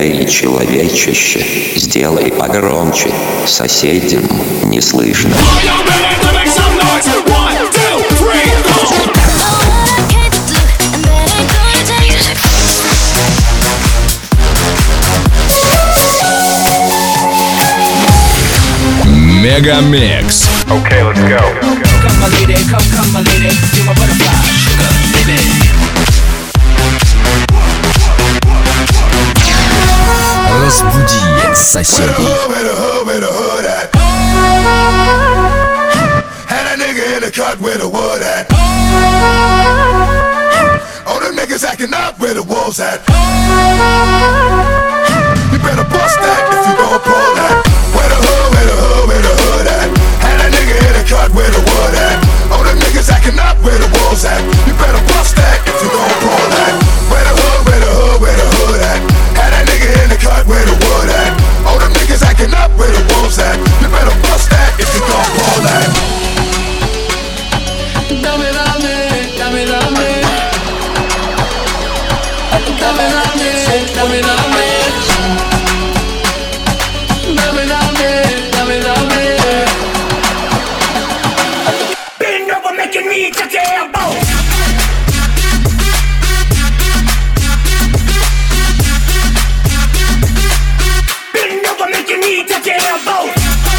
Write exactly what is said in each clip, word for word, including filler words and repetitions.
Эй, человечище, сделай погромче, соседям не слышно. Мегамикс. Okay, let's go. Come my lady, come, come my lady, you're my butterfly, sugar, baby. Разбуди соседей. Had a nigga in the cut where the wood at. All them niggas acting up where the wolves at. You better bust that if you gon' pull that. Where the hood, where the hood, where the hood at. Had a nigga in the cut where the wood at. All them niggas acting up where the wolves at. You better bust that if you gon' pull that. Where the hood, where the hood, where the hood at. Had a nigga in the cut where the wood at. All them niggas acting up where the wolves at. You better bust that if you gon' pull that. Dame, dame, dame, dame. Dame, dame, dame, dame. Dame, dame, dame, dame. Bend over, make your knee touch your elbow. Bend over, make your knee touch your elbow.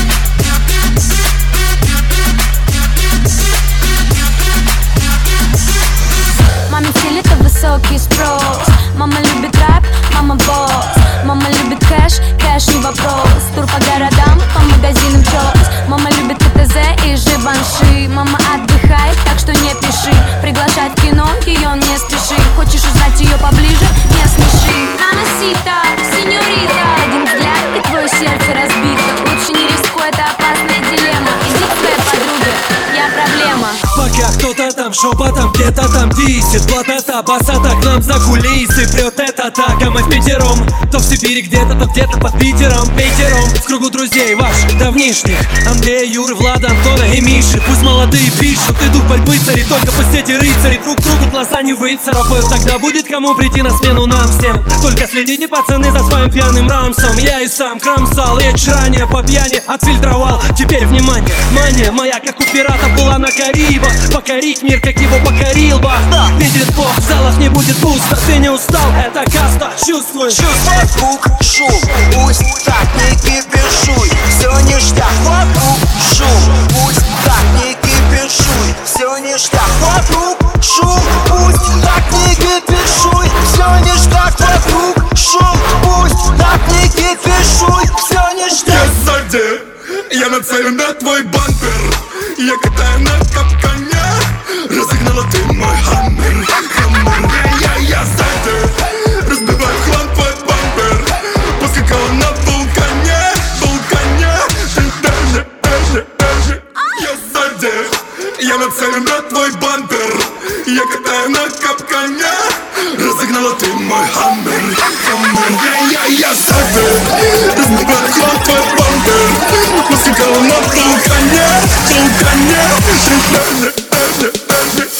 Маме стиль это высокий спрос. Мама любит рэп, мама босс. Мама любит кэш, кэш не вопрос. Тур по городам, по магазинам чёс. Мама любит КТЗ и Живанши. Мама отдыхает, так что не пиши. Приглашать в кино, её не спеши. Хочешь узнать её поближе? Не смеши. Мамасита, сеньорита. Один взгляд и твое сердце разбито. Лучше не рискуй, это опасная дилемма. Иди к своей подруге, я проблема. Пока кто-то там шепотом где-то там висит. Плотнота басата к нам за кулисы прет эта атака. Мы в пятером, то в Сибири где-то, то где-то под Питером. Пятером в кругу друзей ваших давнишних. Андрея, Юры, Влада, Антона и Миши. Пусть молодые пишут, и дух борьбы царит. Только пусть эти рыцари друг другу глаза не выцарапают. Тогда будет кому прийти на смену нам всем. Только следите, пацаны, за своим пьяным рамсом. Я и сам кромсал, речь ранее по пьяни отфильтровал. Теперь внимание, мания моя, как у пирата, была на Карибах. Покорить мир, как его покорил бы. Видит Бог, в залах не будет пусто. Ты не устал, это каста, чувствуешь? Вокруг шум, пусть так не кипишуй. Все ништяк, вокруг шум, пусть так не кипишуй. Все ништяк, вокруг шум, пусть так не кипишуй. Все ништяк, вокруг шум, пусть так не кипишуй. Все ништяк. Я сзади, я нацелен на твой бампер. Я катаю на капкане. Разогнала ты мой хаммер, хаммер. Я, я, я сзади, разбиваю в хлам твой бампер. Поскакала на вулкане, вулкане. Ты даже, даже, даже. Я сзади, я нацелен на твой бампер. Я катаю на капкане. Разогнала ты мой хаммер, хаммер. Я, я, я сзади, разбиваю в хлам твой бампер. Поскакала на вулкане, вулкане. Ты даже, даже, даже.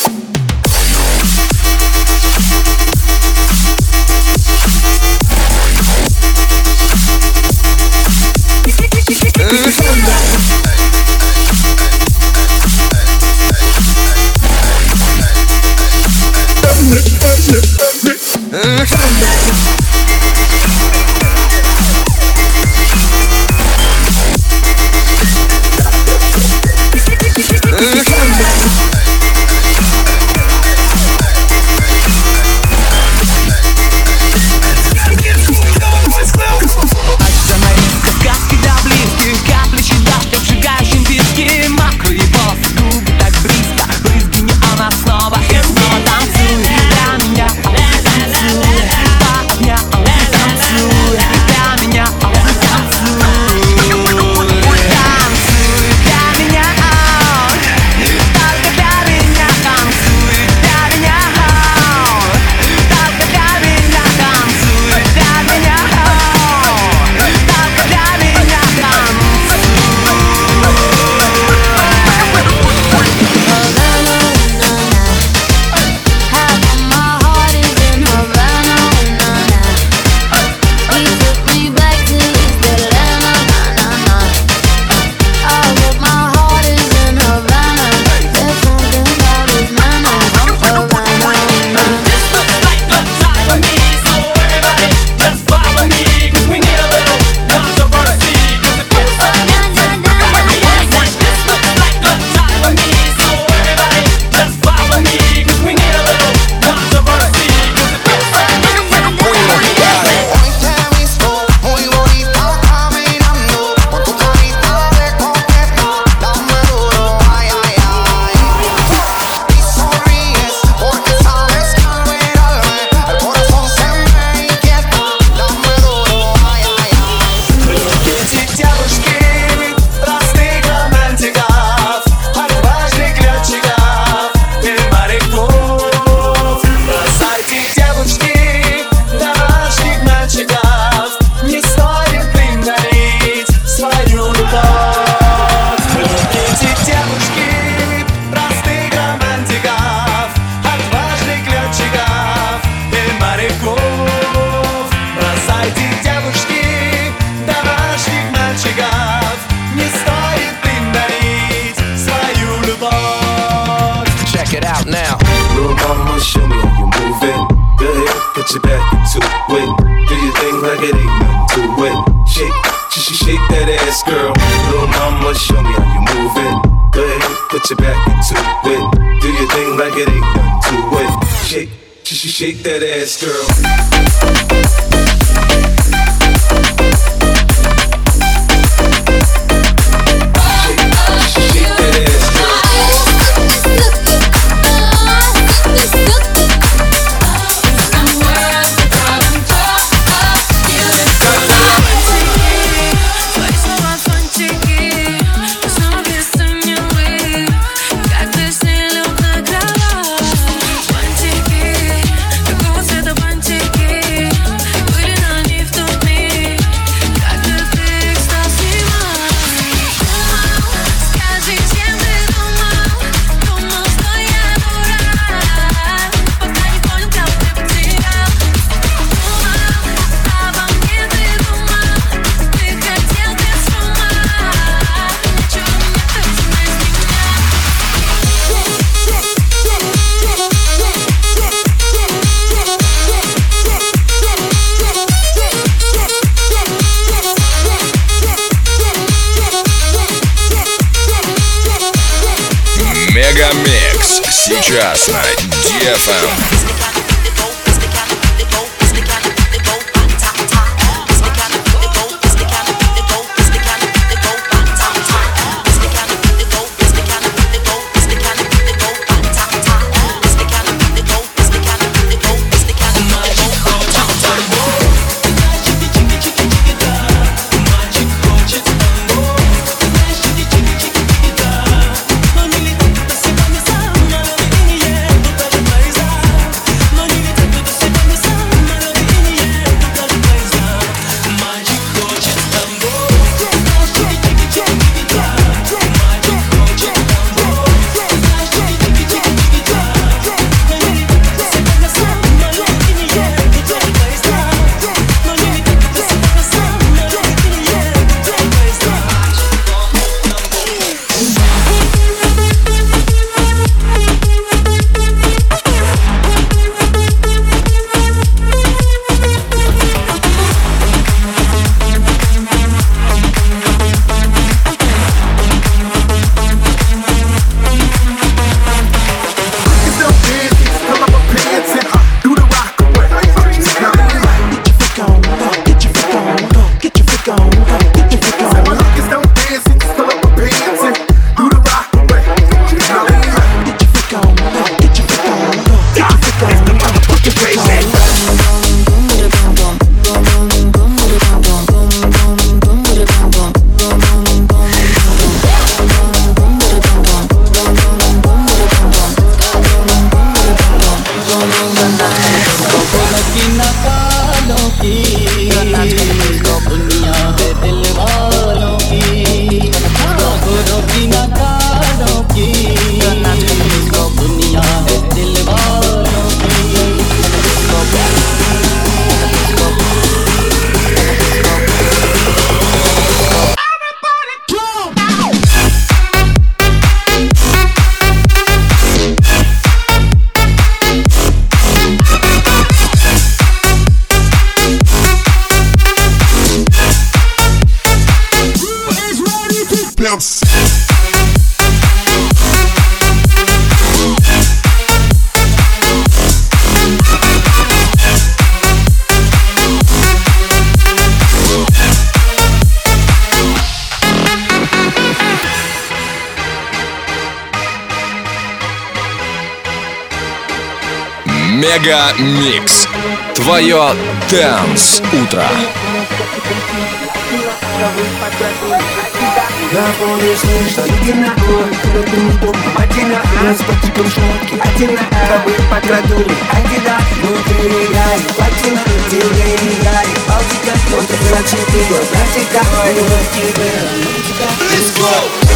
Come back. it. Do your thing like it ain't nothing to it. Shake, sh sh shake that ass, girl. Little mama, show me how you move it. Go ahead, put your back into it. Do your thing like it ain't nothing to it. Shake, sh sh shake that ass, girl. Мегамикс сейчас на ди эф эм. Мегамикс. Твое Dance утро. Напомнишь, что едино, кто ты не помнишь, один раз по типу шмотки, один рабы покрадули, один внутри реали, платина, тебе реали, Балтика, вот это значит ты год, братика, любовь тебе, let's go!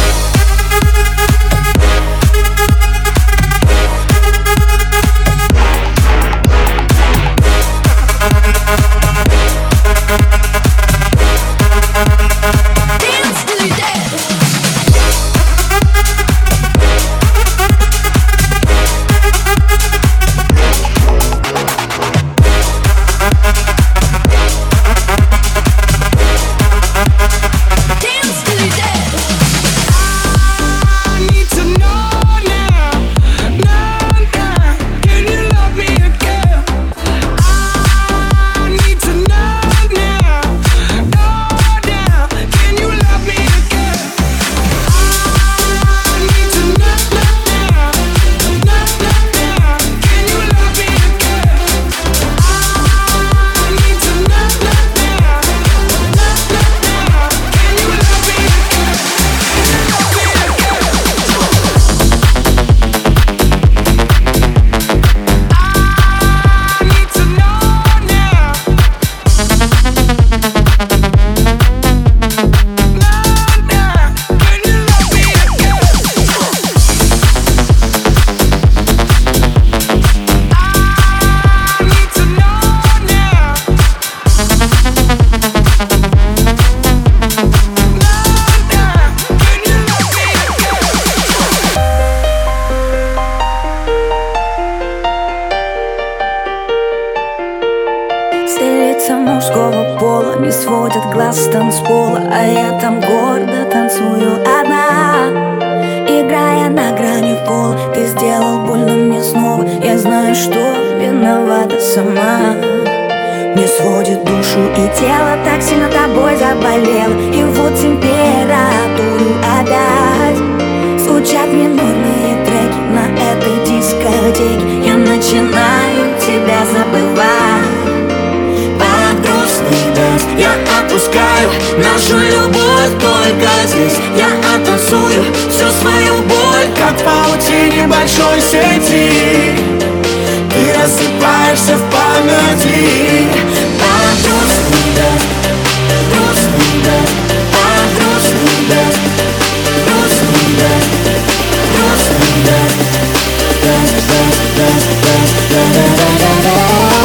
пола не сводят глаз с танцпола, а я там гордо танцую одна. Играя на грани пола, ты сделал больно мне снова. Я знаю, что виновата сама. Мне сводит душу и тело, так сильно тобой заболело. И вот температуру опять. Звучат минорные треки на этой дискотеке. Я начинаю тебя забывать. Под грустный дэнс я отпускаю нашу любовь только здесь. Я оттанцую всю свою боль, как в паутине большой сети. Ты рассыпаешься в памяти. Под грустный дэнс, грустный дэнс, под грустный дэнс, грустный дэнс, грустный дэнс, дэнс, дэнс, дэнс, дэнс, дэнс.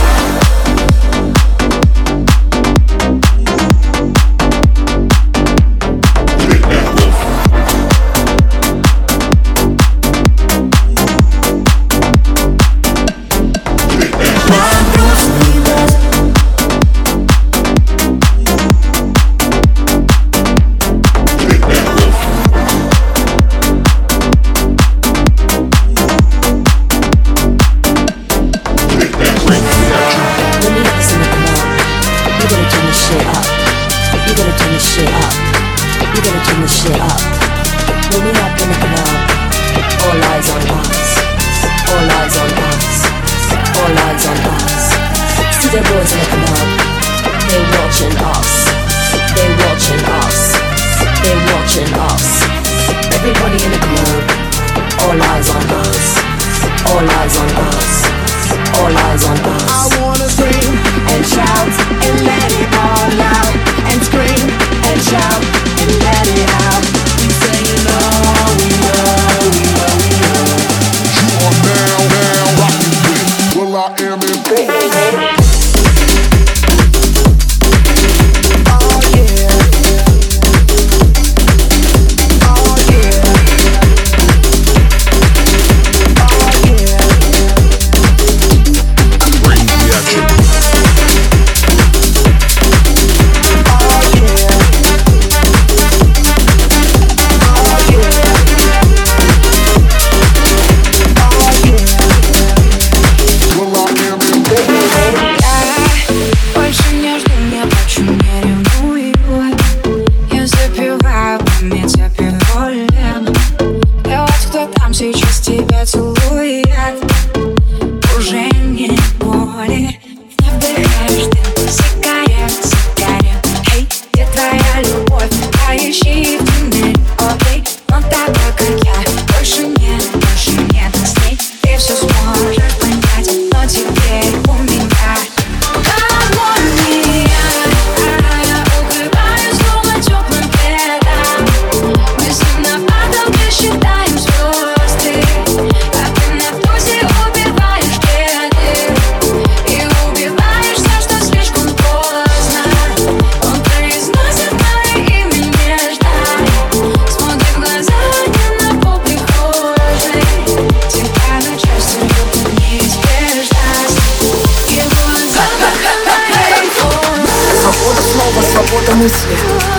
Мысли.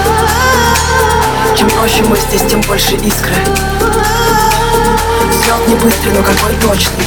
Чем проще мы здесь, тем больше искры. Взлет не быстрый, но какой точный.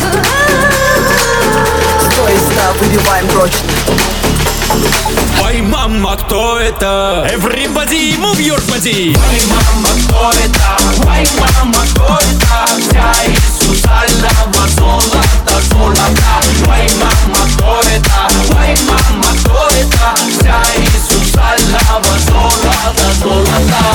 Сто из ста выбиваем прочно. Ой, мама, кто это? Everybody move your body. Ой, мама, кто это? Ой, мама, кто это? Вся из сусального золота, золота. Ой, мама, кто это? Ой, мама, кто это? Вся из сусального золота, золота.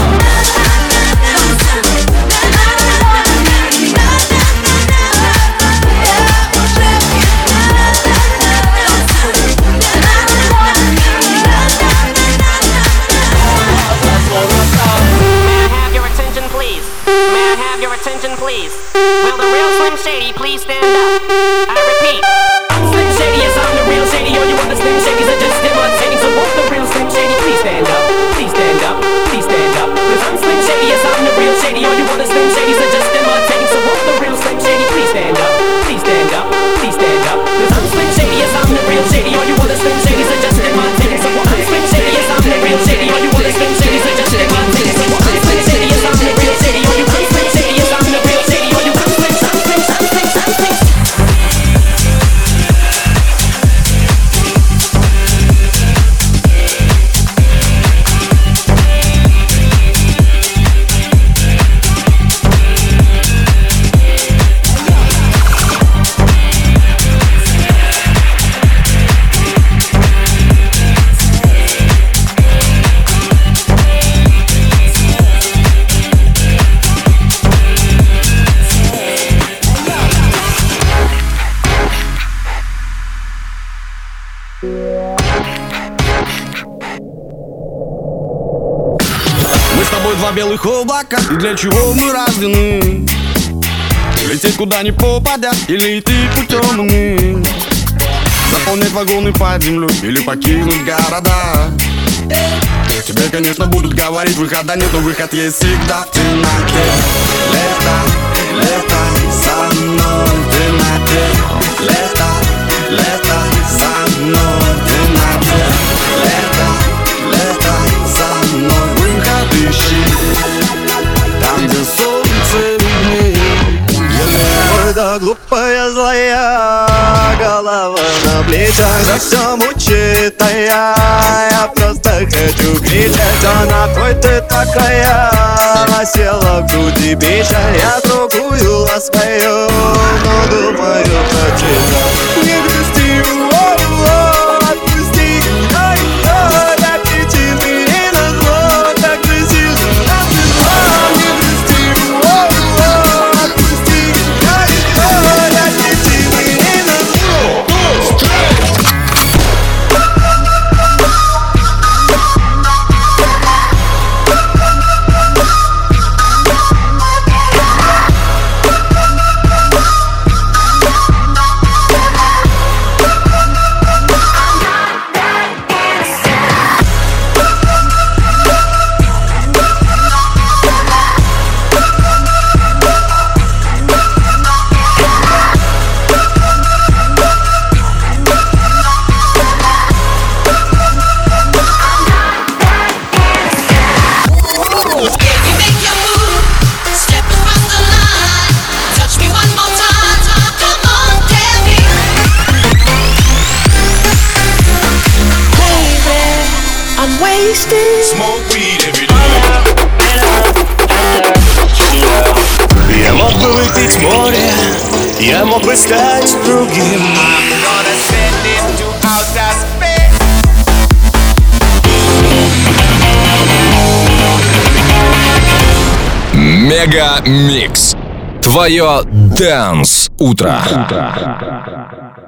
Please, will the real Slim Shady please stand up? I repeat, I'm Slim Shady, yes I'm the real Shady. All you other Slim Shadys are just imitating. So won't the real Slim Shady please stand up? Please stand up, please stand up. Cause I'm Slim Shady, yes I'm the real Shady. All you other Slim Shadys are just imitating. So won't the real Slim Shady please stand up? Please stand up, please stand up. Cause I'm Slim Shady, yes I'm the real Shady. All you other Slim Shadys are just imitating. So won't I'm Slim Shady. тобой два белых облака, и для чего мы рождены? Лететь куда ни попадя, или идти путем иным? Заполнять вагоны под землю, или покинуть города? Тебе, конечно, будут говорить, выхода нет, но выход есть всегда в темноте. Лето, лето, со мной в темноте. Лето, лето, со мной в темноте. Лето, лето, со мной выход ищи, там, где солнце виднее. Какая глупая злая голова на плечах, за все мучит, а я, я просто хочу кричать. А на кой ты такая, села в груди печаль? Я другую ласкаю, но думаю про тебя. Не грусти, о-о, отпусти, ай-ой, так кричи мне на зло, так кричи на зло. Не грусти, о-о, отпусти, ай-ой, так кричи мне на зло. Smoke weed every day. Я мог бы выпить море, я мог бы стать другим. Мега Микс. Твое Dance утро.